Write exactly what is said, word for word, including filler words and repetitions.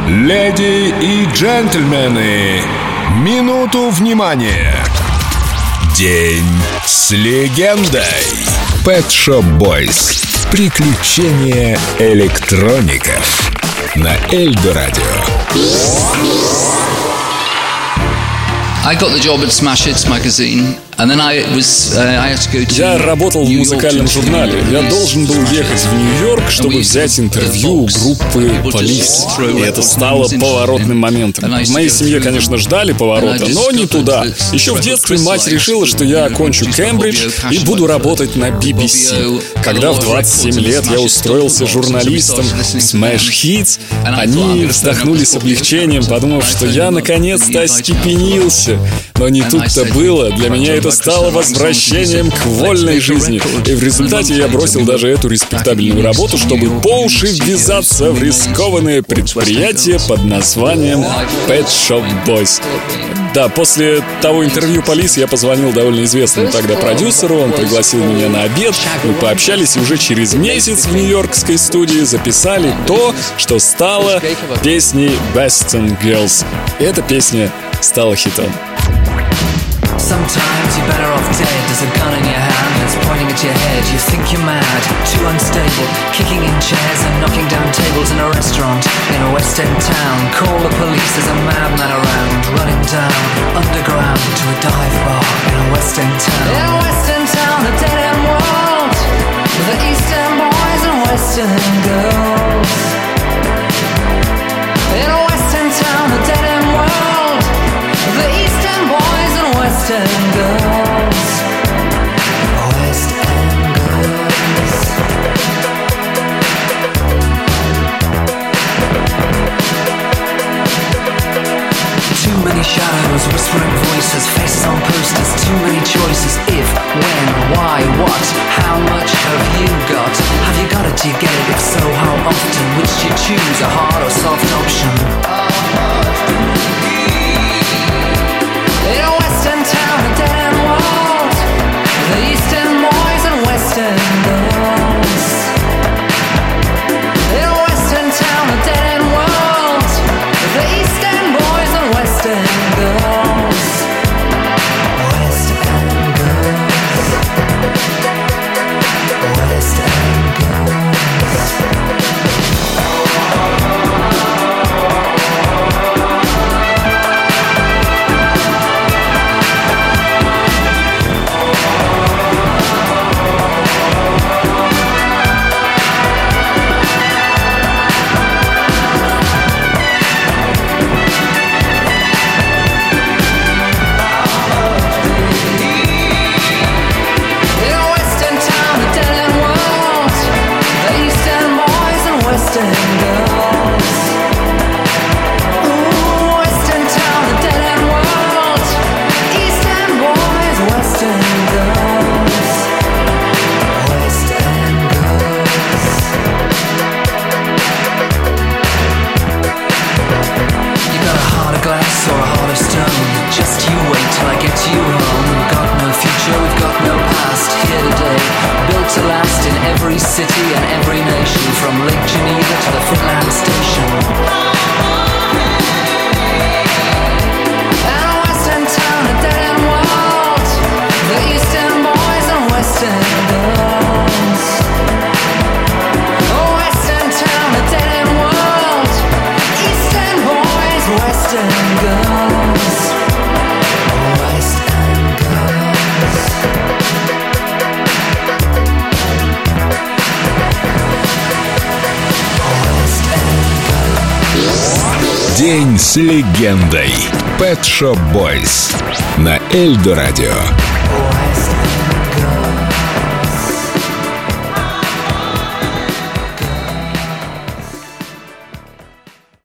Леди и джентльмены, минуту внимания. День с легендой. Pet Shop Boys. Приключения электроников на Эльдо Радио. I got the job at Smash Hits magazine, and then I was uh, I had to go to Я работал в музыкальном журнале. Я должен был ехать в Нью-Йорк, чтобы взять интервью у группы Police. И это стало поворотным моментом. В моей семье, конечно, ждали поворота, но не туда. Еще в детстве мать решила, что я окончу Кембридж и буду работать на би би си. Когда в двадцать семь лет я устроился журналистом в Smash Hits, они вздохнули с облегчением, подумав, что я наконец-то остепенился. Но не тут-то было. Для меня это стало возвращением к вольной жизни. И в результате я бросил даже эту респектабельную работу, чтобы по уши ввязаться в рискованное предприятие под названием Pet Shop Boys. Да, после того интервью Police я позвонил довольно известному тогда продюсеру. Он пригласил меня на обед. Мы пообщались, и уже через месяц в нью-йоркской студии записали то, что стало песней Western Girls. И эта песня стала хитом. Sometimes you're better off dead. There's a gun in your hand that's pointing at your head. You think you're mad, too unstable, kicking in chairs and knocking down tables in a restaurant in a West End town. Call the police, there's a madman around, running down underground to a dive bar in a West End town. In a West End town, a dead end world, the East End boys and West End girls. In a West End town, a dead end world, the East End boys and West End girls. West End girls. Too many shadows, whispering voices, faces on posters, too many choices. If, when, why, what, how much have you got? Have you got it, do you get it? If so, how often? Which do you choose, a hard or soft option? In a West End town, a dead end world, the East End boys and West End girls. In a West End town, a dead end world, the East End boys and West End girls. West End girls. West End girls. Every city and every nation, from Lake Geneva to the Finland station. And a West End town, a dead end world, the East End boys and West End girls. A West End town, a dead end world, East End boys, West End girls. West End girls. День с легендой. Pet Shop Boys на Эльдо Радио.